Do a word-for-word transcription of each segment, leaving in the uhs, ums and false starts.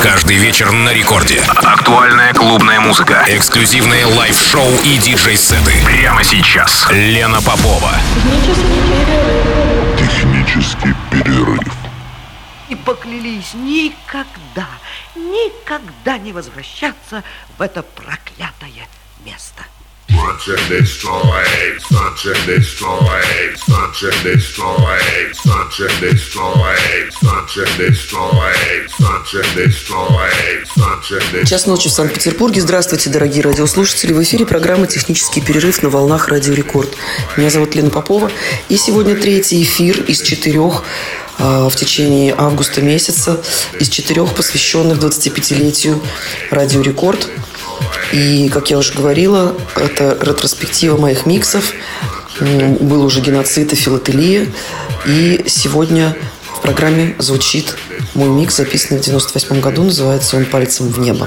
Каждый вечер на рекорде. Актуальная клубная музыка, эксклюзивные лайв-шоу и диджей-сеты. Прямо сейчас. Лена Попова. Технический перерыв. И поклялись никогда, никогда не возвращаться в это проклятое место. Punch and destroy, punch and destroy, punch and destroy, punch and destroy, punch and destroy, punch and destroy, punch and destroy. Час ночи в Санкт-Петербурге. Здравствуйте, дорогие радиослушатели. В эфире программа «Технический перерыв» на волнах Радио Рекорд. Меня зовут Лена Попова. И сегодня третий эфир из четырех э, в течение августа месяца, из четырех, посвященных двадцатипятилетию Радио Рекорд. И, как я уже говорила, это ретроспектива моих миксов. Был уже геноцид и филателия. И сегодня в программе звучит мой микс, записанный в девяносто восьмом году. Называется он «Пальцем в небо».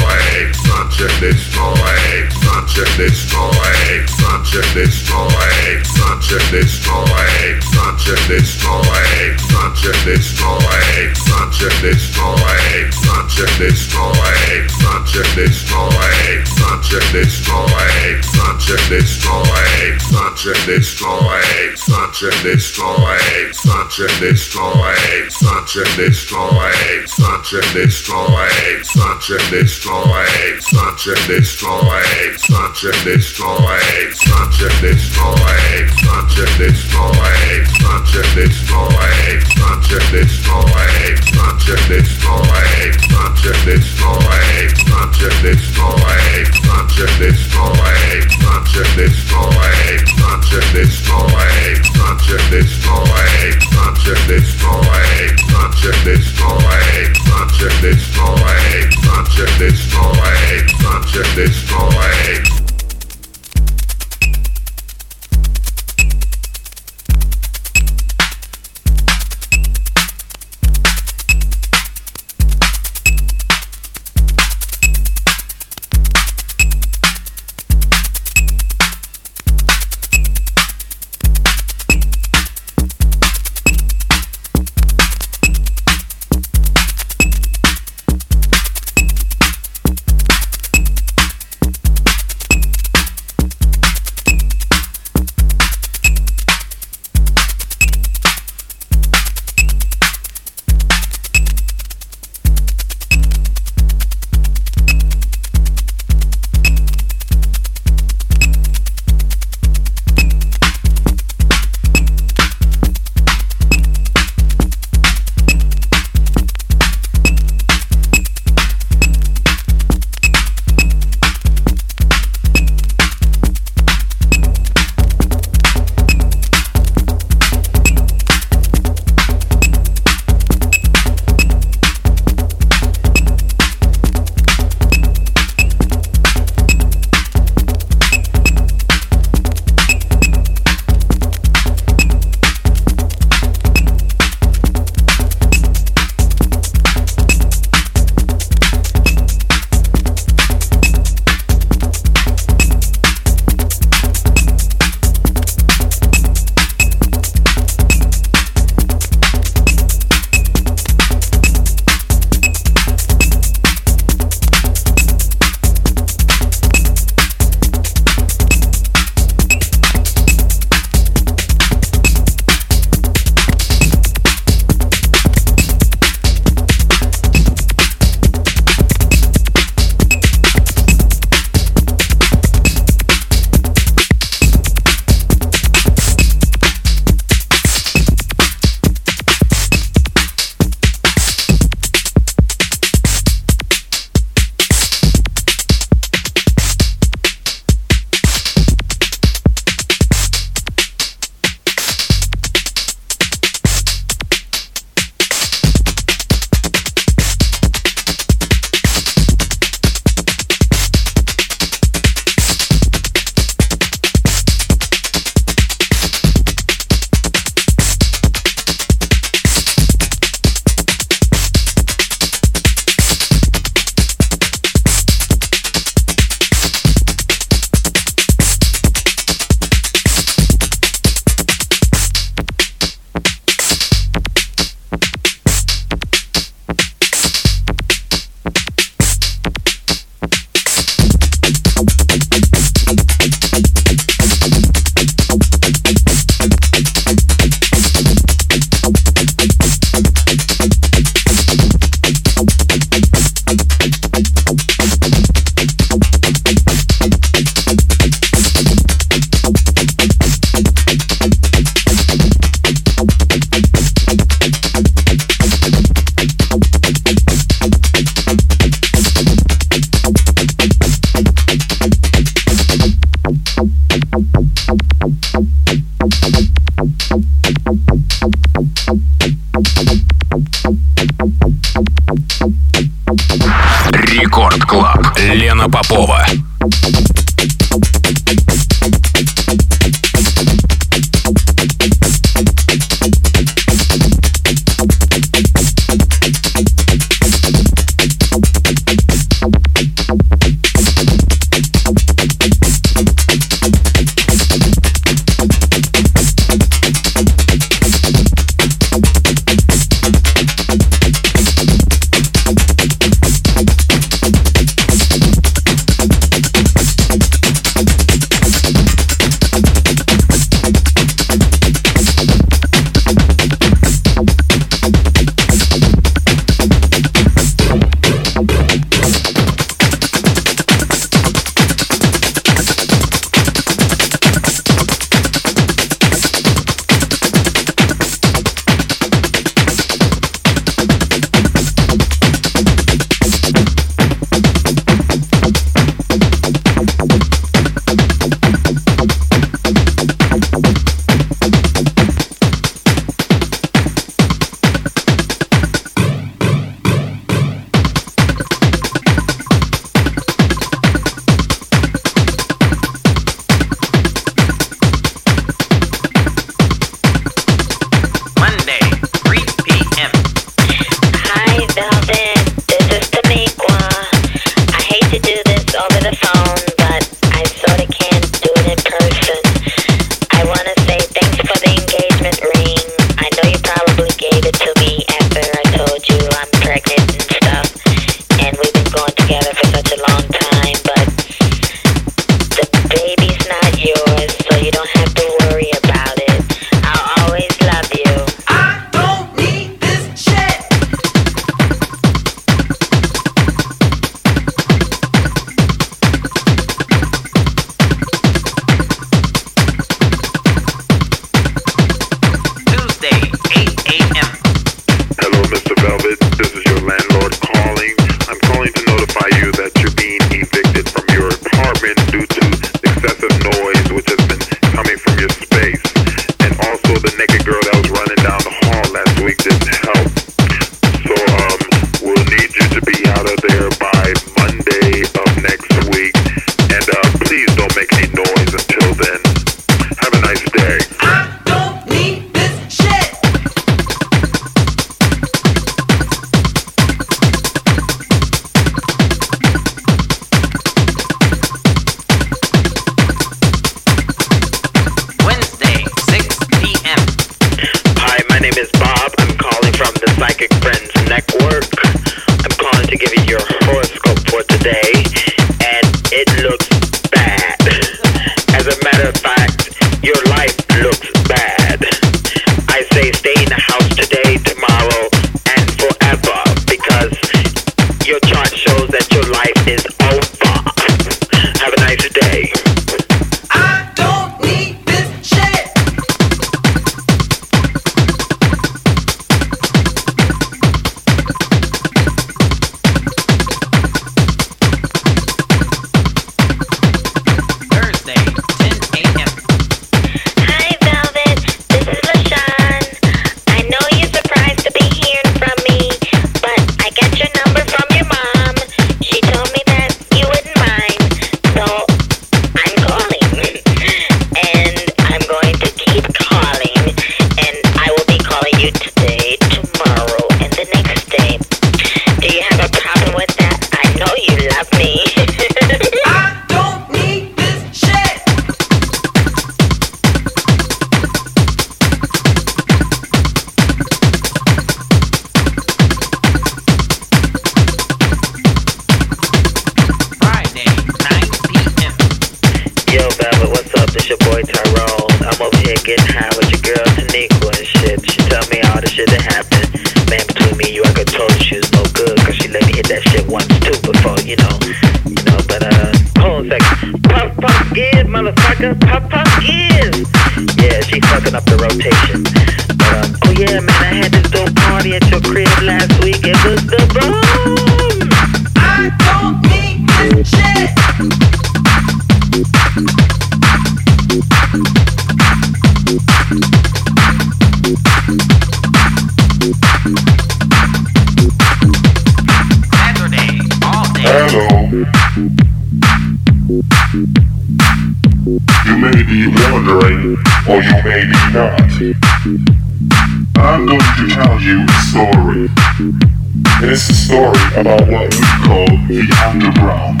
You may be wondering, or you may be not. I'm going to tell you a story. It is a story about what we call the underground.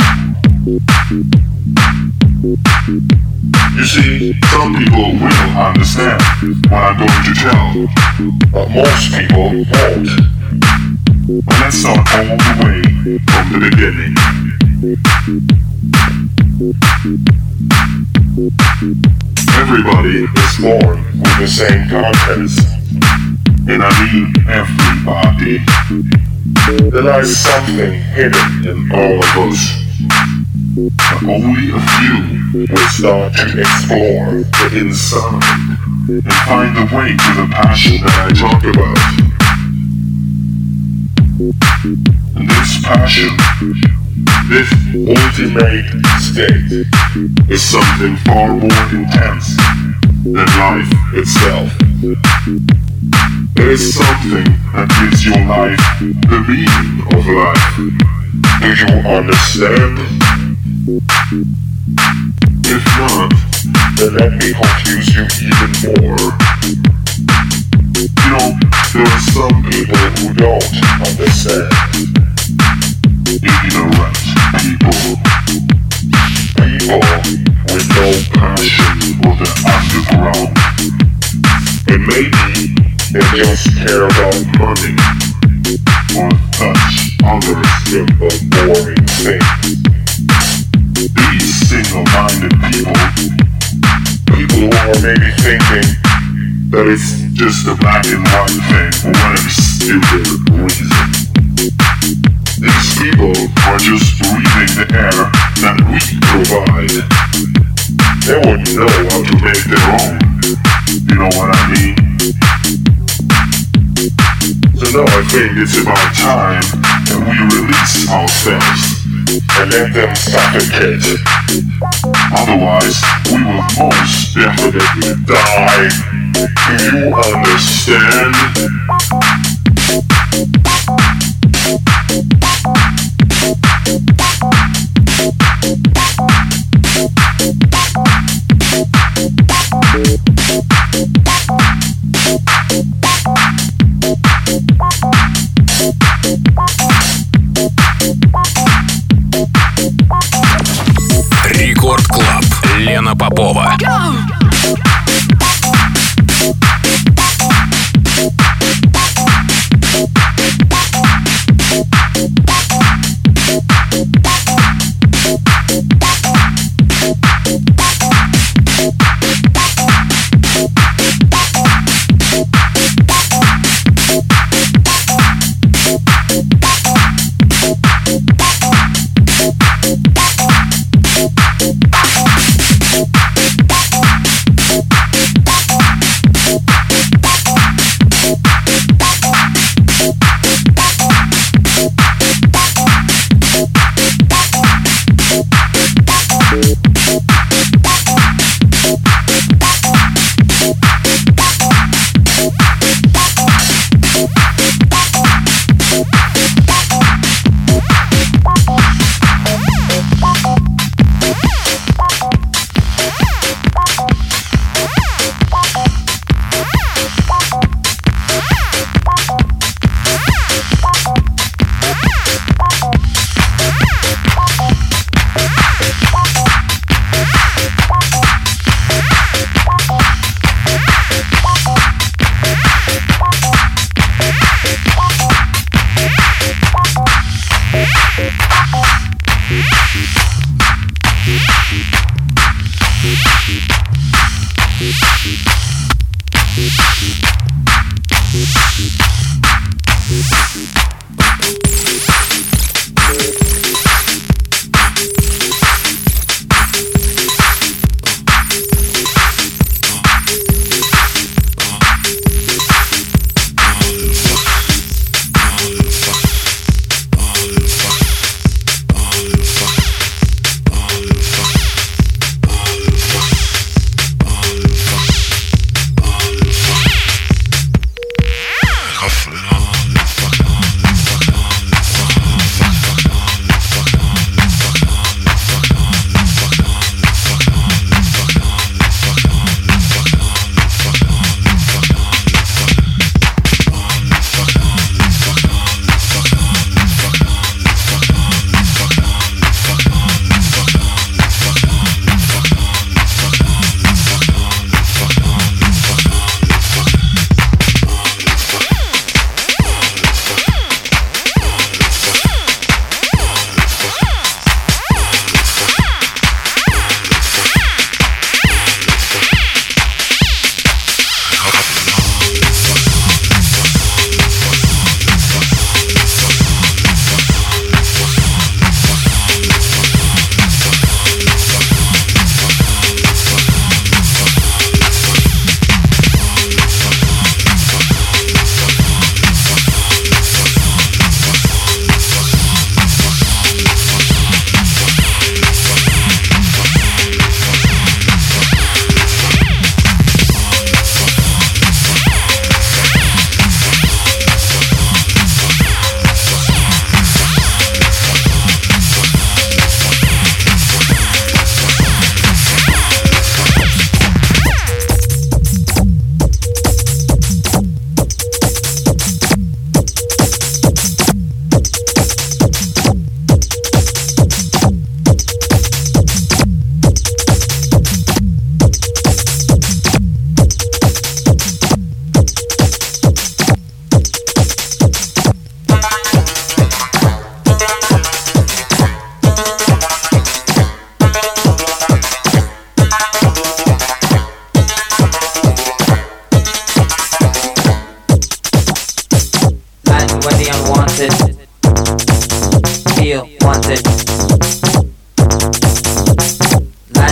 You see, some people will understand what I'm going to tell, but most people won't. But let's start all the way from the beginning. Everybody is born with the same contents, and I mean everybody. There lies something hidden in all of us, but only a few will start to explore the inside and find the way to the passion that I talk about. And this passion, this ultimate state, is something far more intense than life itself. It is something that gives your life the meaning of life. Do you understand? If not, then let me confuse you even more. You know, there are some people who don't understand. Ignorant people. People with no passion for the underground. And maybe they just care about money or such other simple, boring things. These single-minded people, people who are maybe thinking that it's just a black and white thing for whatever stupid reason. These people are just breathing the air that we provide. They wouldn't know how to make their own. You know what I mean? So now I think it's about time that we release ourselves and let them suffocate. Otherwise, we will most definitely die. Do you understand? Рекорд Клаб. Лена Попова.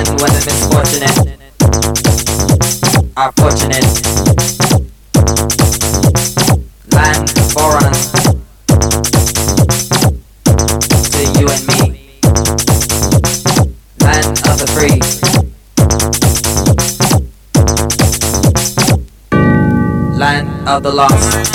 land where the misfortunate are fortunate. Land foreign to you and me. Land of the free. Land of the lost.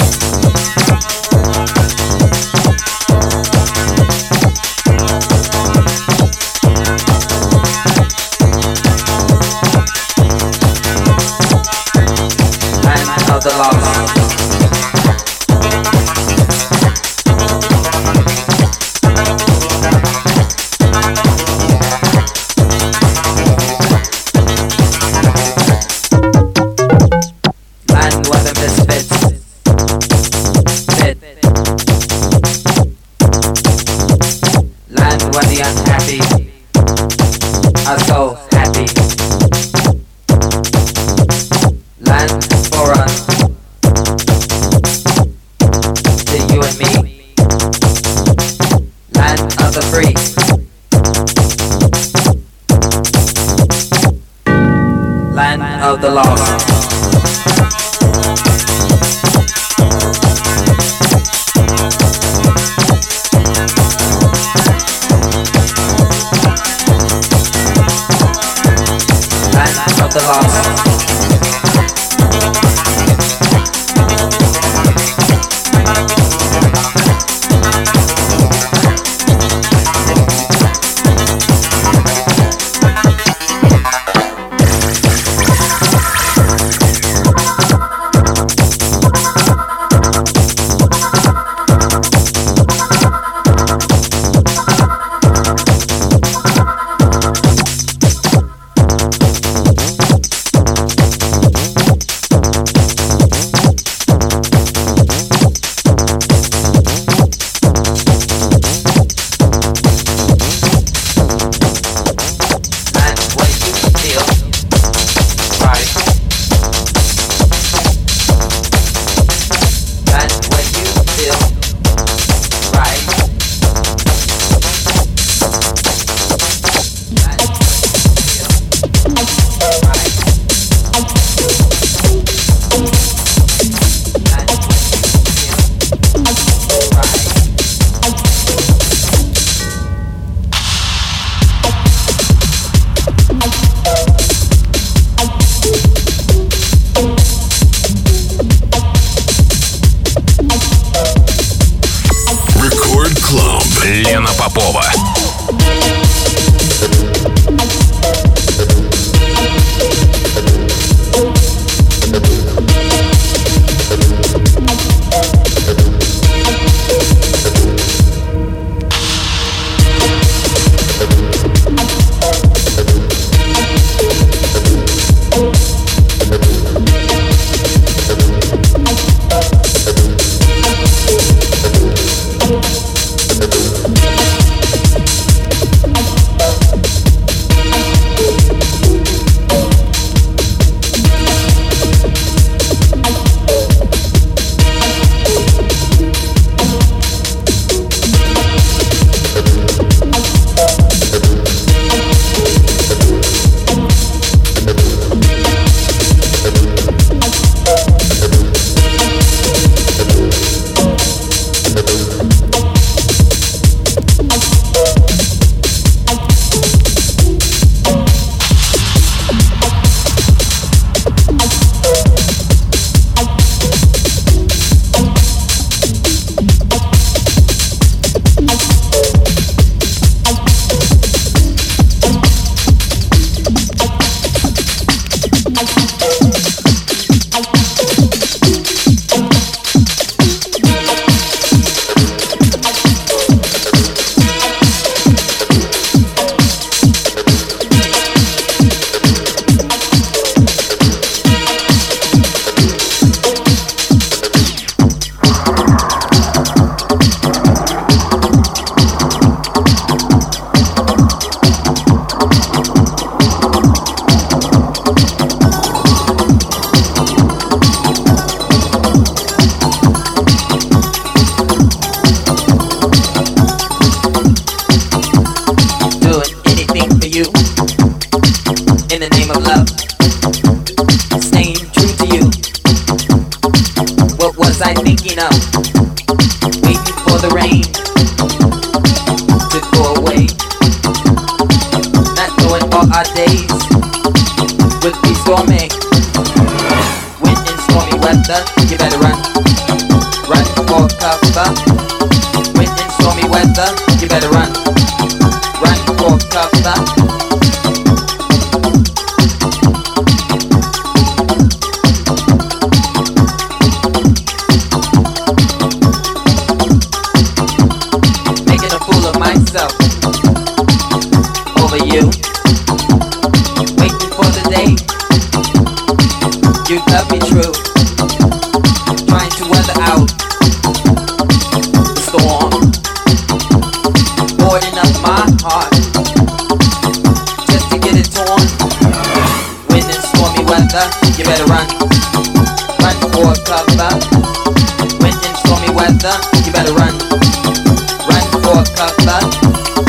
Of the lost. Land where the misfits fit. Land where the unhappy are so happy. Land for us. You and me, land of the free, land of the lost. Land of the lost. thinking of, waiting for the rain to go away. Not knowing all our days would be stormy. When in stormy weather, you better run, run for cover. When in stormy weather, you better run, run for cover. Over you, waiting for the day you love me true, trying to weather out the storm, boarding up my heart just to get it torn. When in stormy weather, you better run, run for cover. When in stormy weather, you better run, run for cover.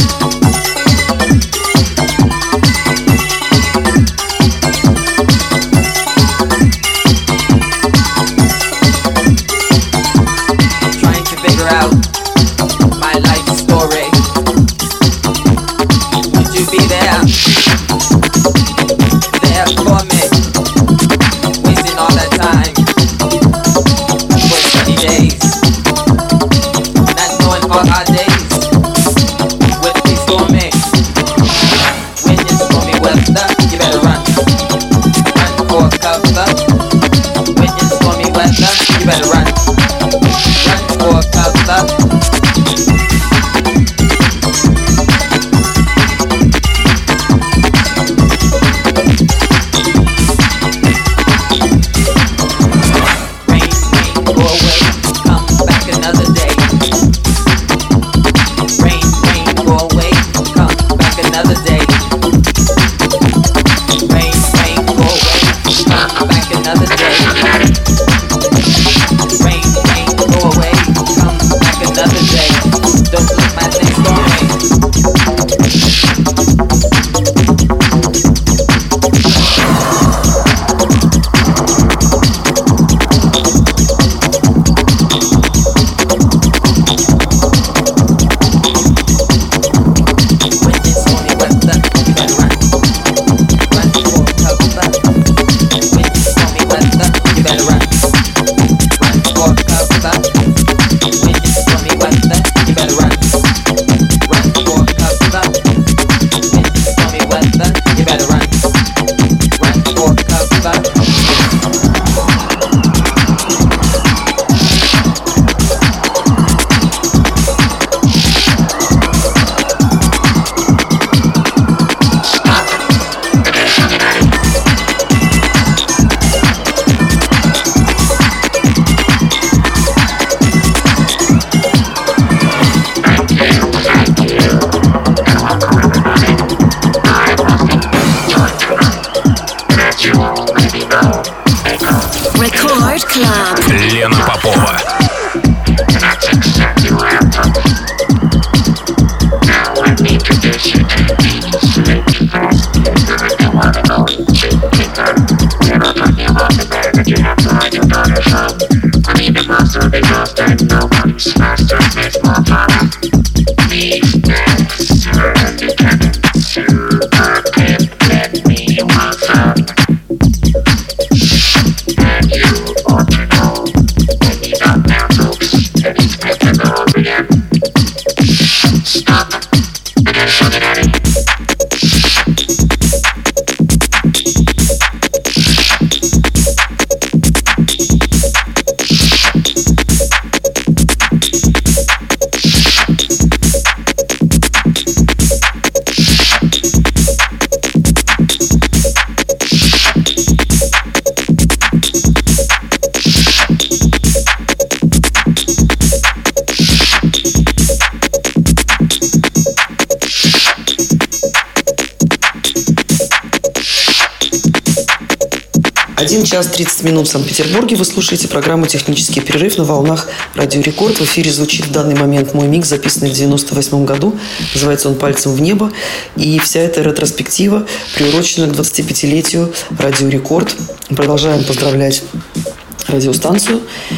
один час тридцать минут в Санкт-Петербурге. Вы слушаете программу «Технический перерыв» на волнах Радио Рекорд. В эфире звучит в данный момент мой микс, записанный в девяносто восьмом году. Называется он «Пальцем в небо». И вся эта ретроспектива приурочена к двадцатипятилетию Радио Рекорд. Продолжаем поздравлять радиостанцию.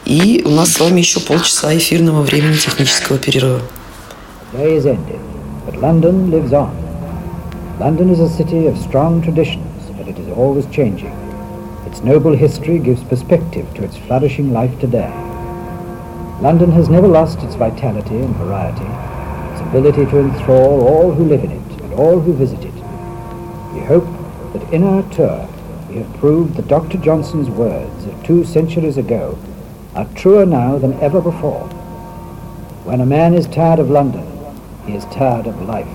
И у нас с вами еще полчаса эфирного времени технического перерыва. Day is ended, but London lives on. London is a city of strong traditions, but it is always changing. Its noble history gives perspective to its flourishing life today. London has never lost its vitality and variety, its ability to enthrall all who live in it and all who visit it. We hope that in our tour we have proved that Doctor Johnson's words of two centuries ago are truer now than ever before. When a man is tired of London, he is tired of life.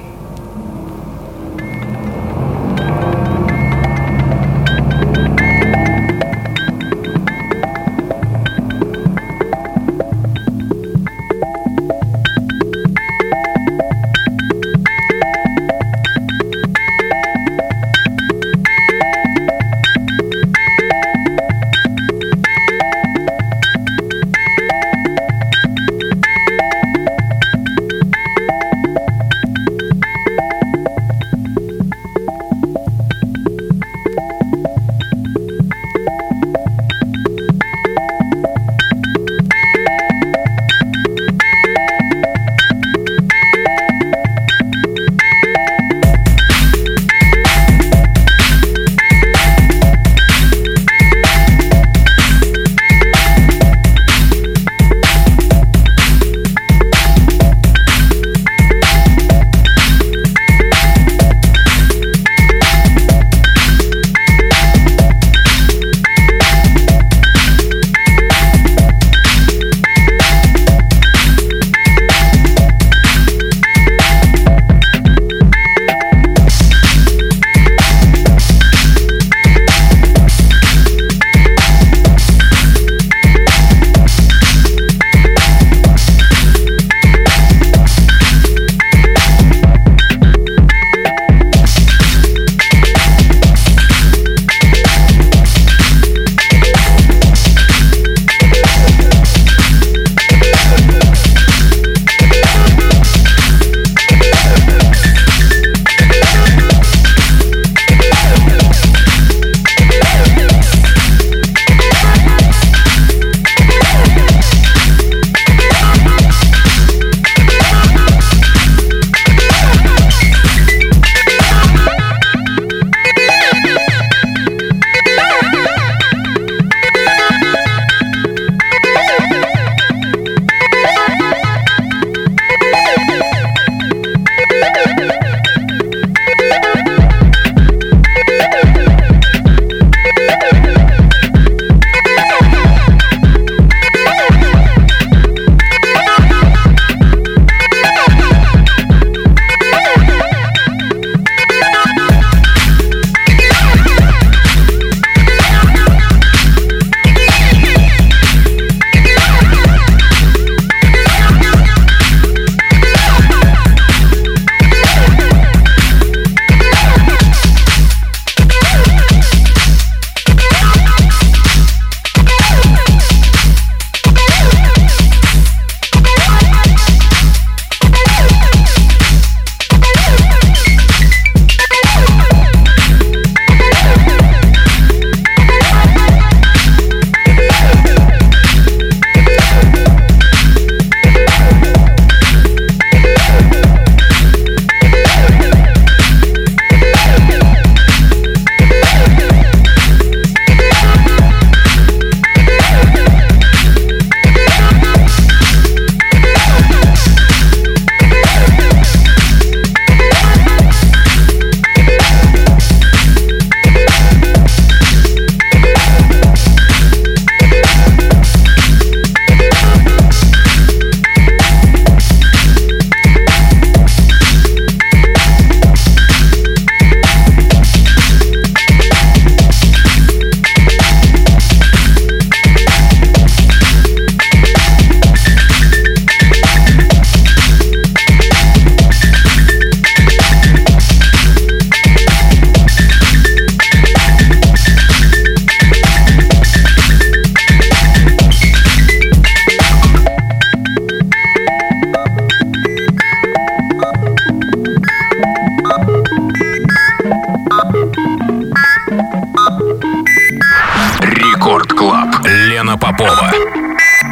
Рекорд Клаб. Лена Попова.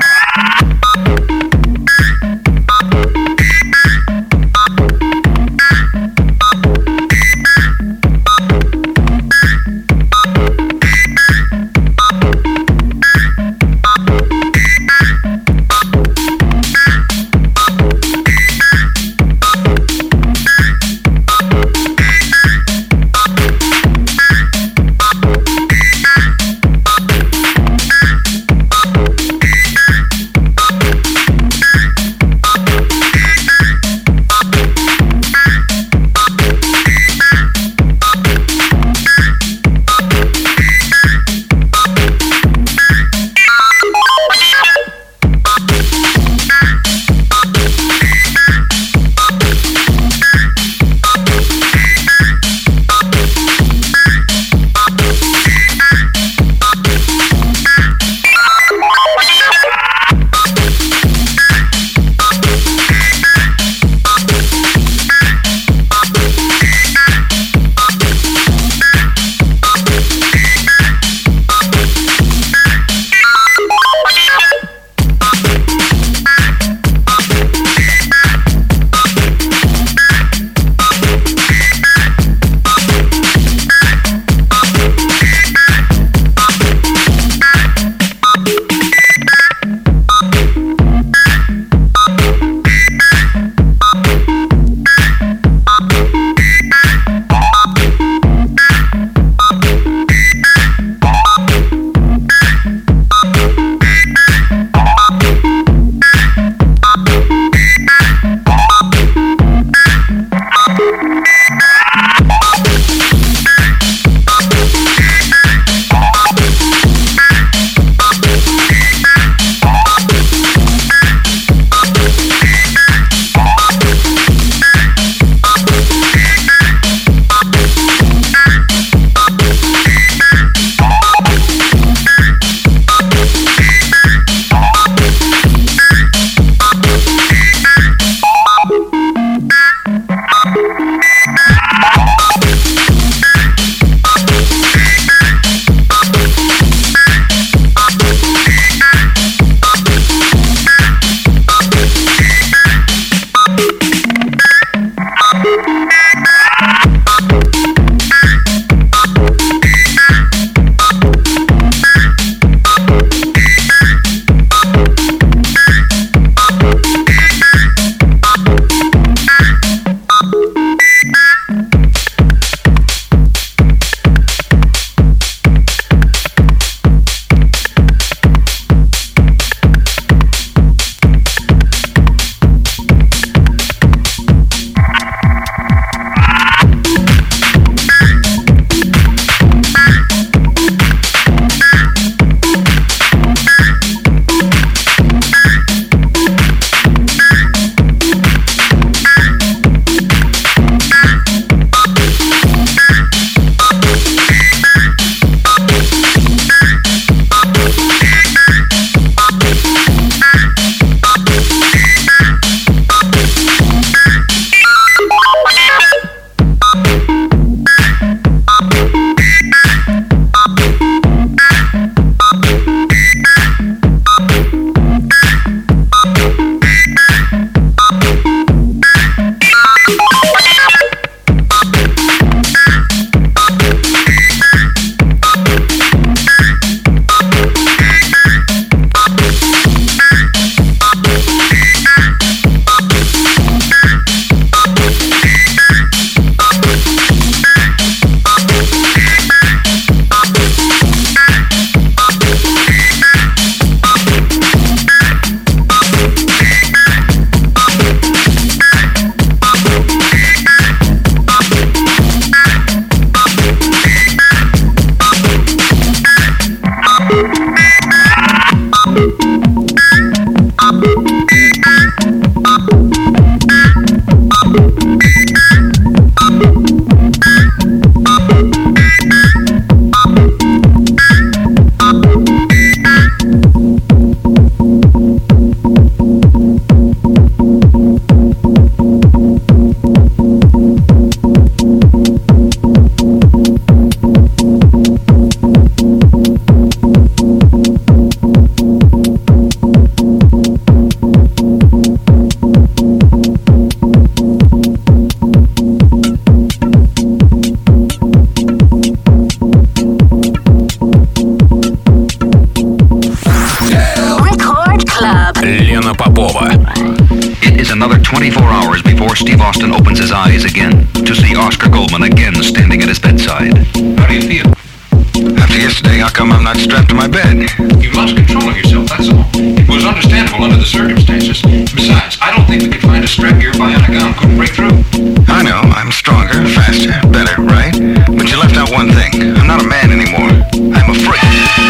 Austin opens his eyes again to see Oscar Goldman again standing at his bedside. How do you feel? After yesterday, how come I'm not strapped to my bed? You've lost control of yourself, that's all. It was understandable under the circumstances. Besides, I don't think we could find a strap your bionic arm couldn't break through. I know, I'm stronger, faster, better, right? But you left out one thing. I'm not a man anymore. I'm a freak.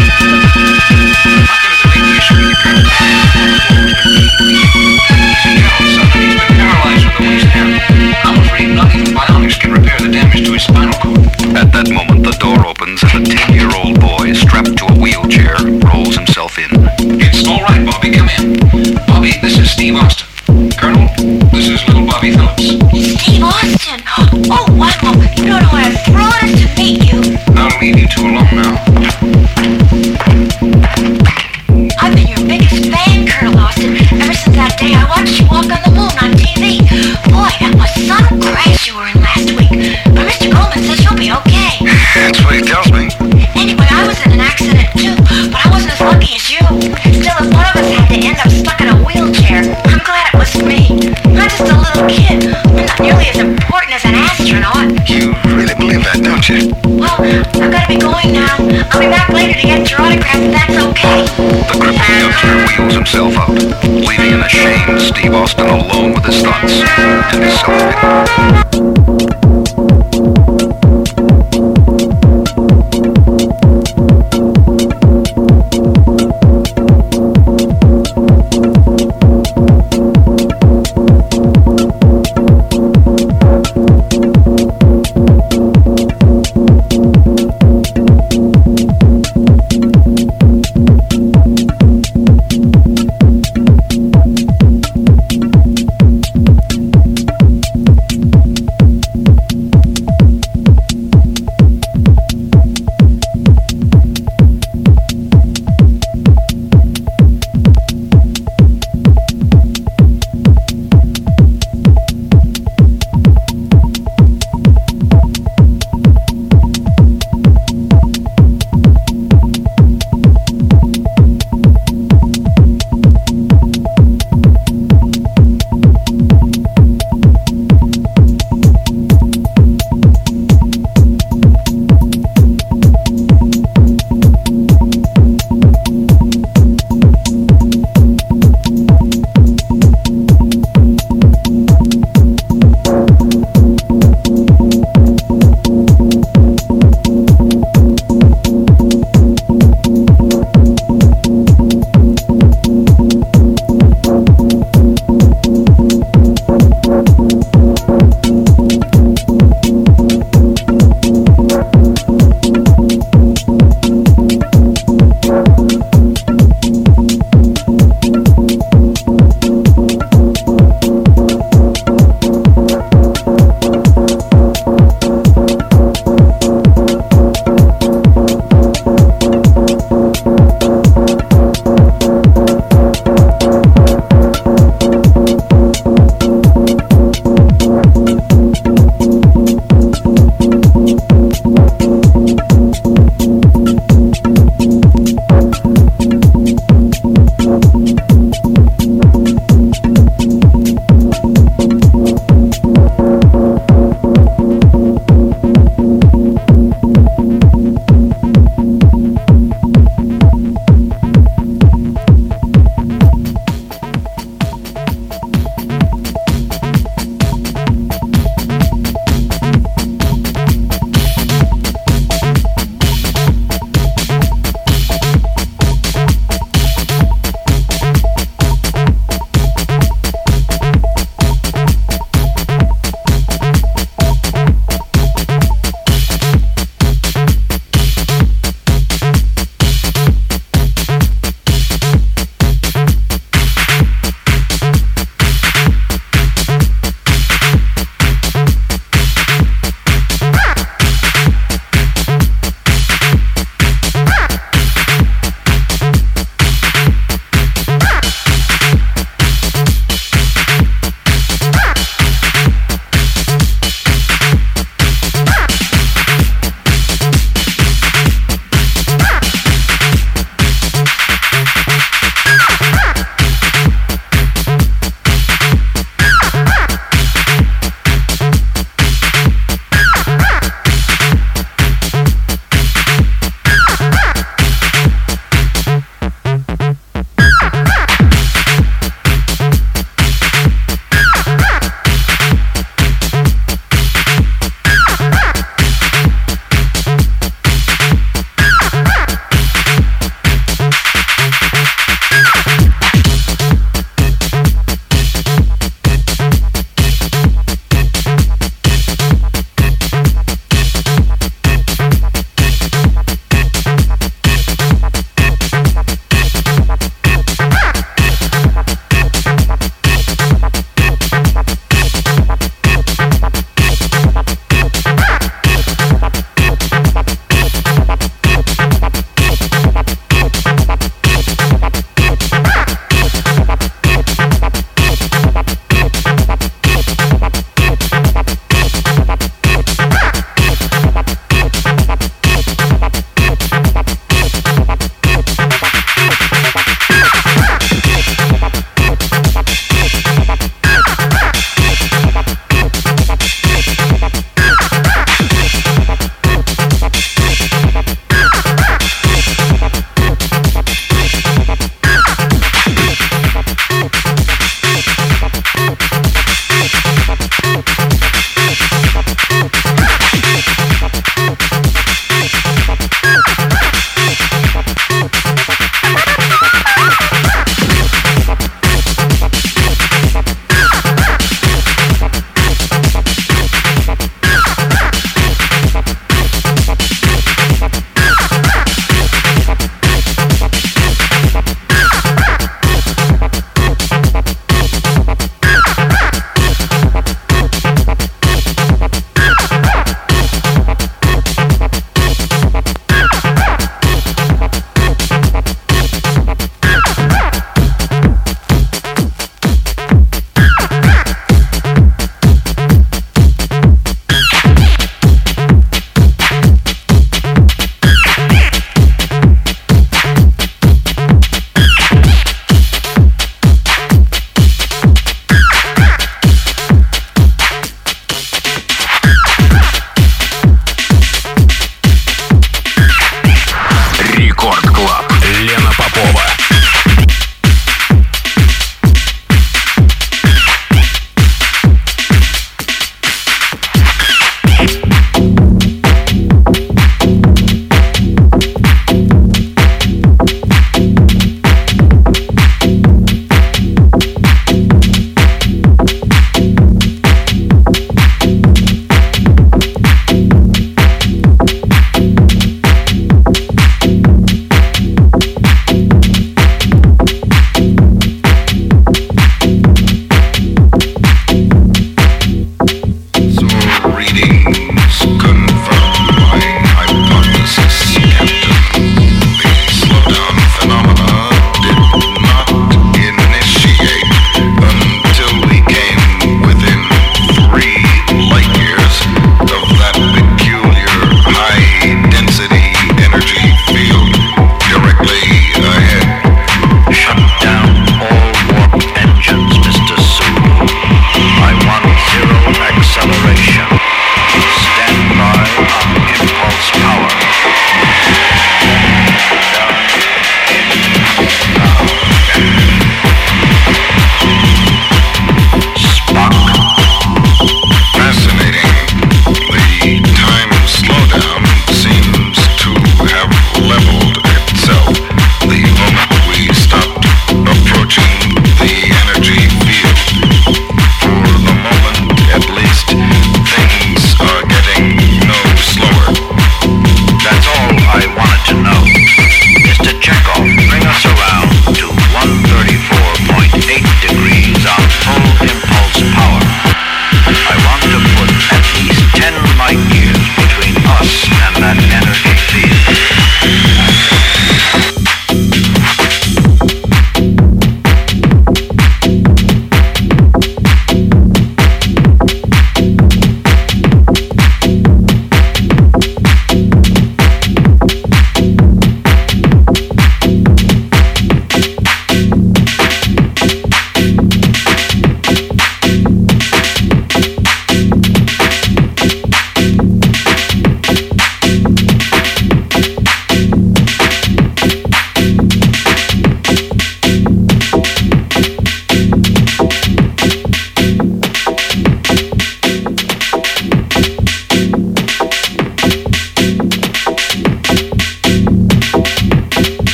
How can it make the issue with your current He's a Carol's son, and he's been paralyzed from the waist down. I'm afraid not even bionics can repair the damage to his spinal cord. At that moment, the door opens and a ten-year-old boy strapped to a wheelchair rolls himself in. It's all right, Bobby. Come in. Bobby, this is Steve Austin. Colonel, this is little Bobby Phillips. Steve Austin? Oh, wow. You don't know what a thrill it is to meet you. I'll leave you two alone now. I've been your biggest fan, Colonel Austin, ever since that day I watched you walk on the moon on T V. Boy, that was some crash you were in last week. But Mister Goldman says you'll be okay. That's what he tells me. Anyway, I was in an accident too, but I wasn't as lucky as you. Still, if one of us had to end up stuck in a wheelchair, I'm glad it was me. I'm just a little kid. I'm not nearly as important as an astronaut. You really believe that, don't you? Well, I've got to be going now. I'll be back later to get your autograph if that's okay. The crippled youngster wheels himself out, leaving an ashamed Steve Austin alone with his thoughts and his self-pity.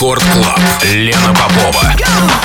Рекорд Клаб. Лена Попова.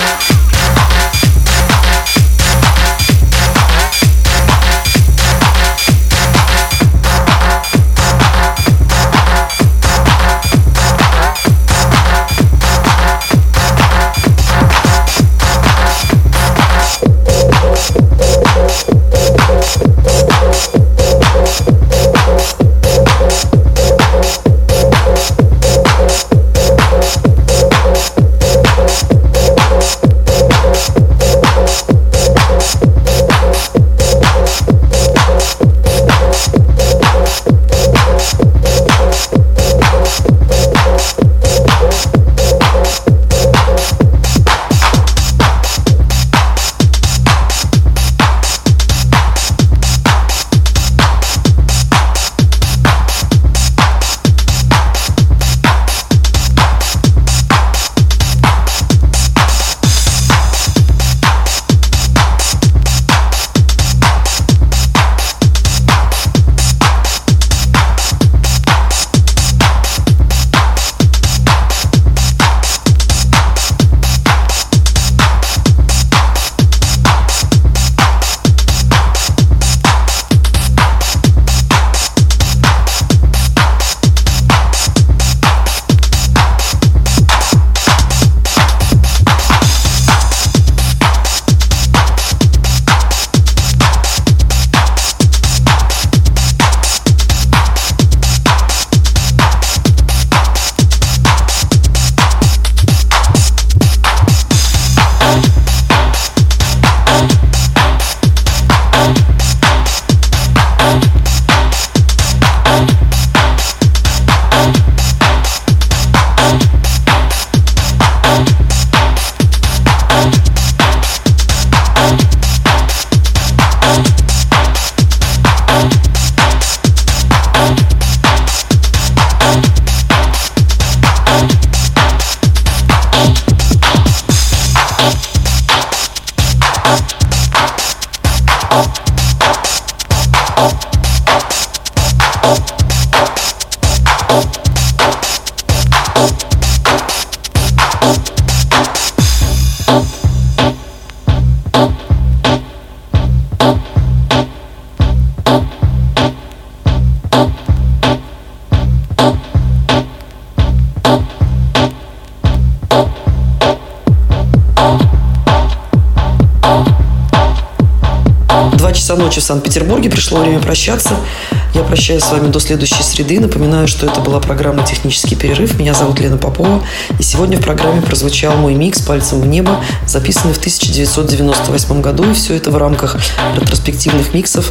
Ночи в Санкт-Петербурге. Пришло время прощаться. Я прощаюсь с вами до следующей среды. Напоминаю, что это была программа «Технический перерыв». Меня зовут Лена Попова. И сегодня в программе прозвучал мой микс «Пальцем в небо», записанный в тысяча девятьсот девяносто восьмом году. И все это в рамках ретроспективных миксов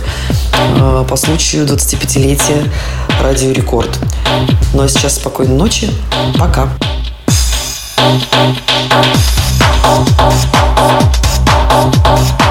э, по случаю двадцатипятилетия Радио Рекорд. Ну а сейчас спокойной ночи. Пока. Oh,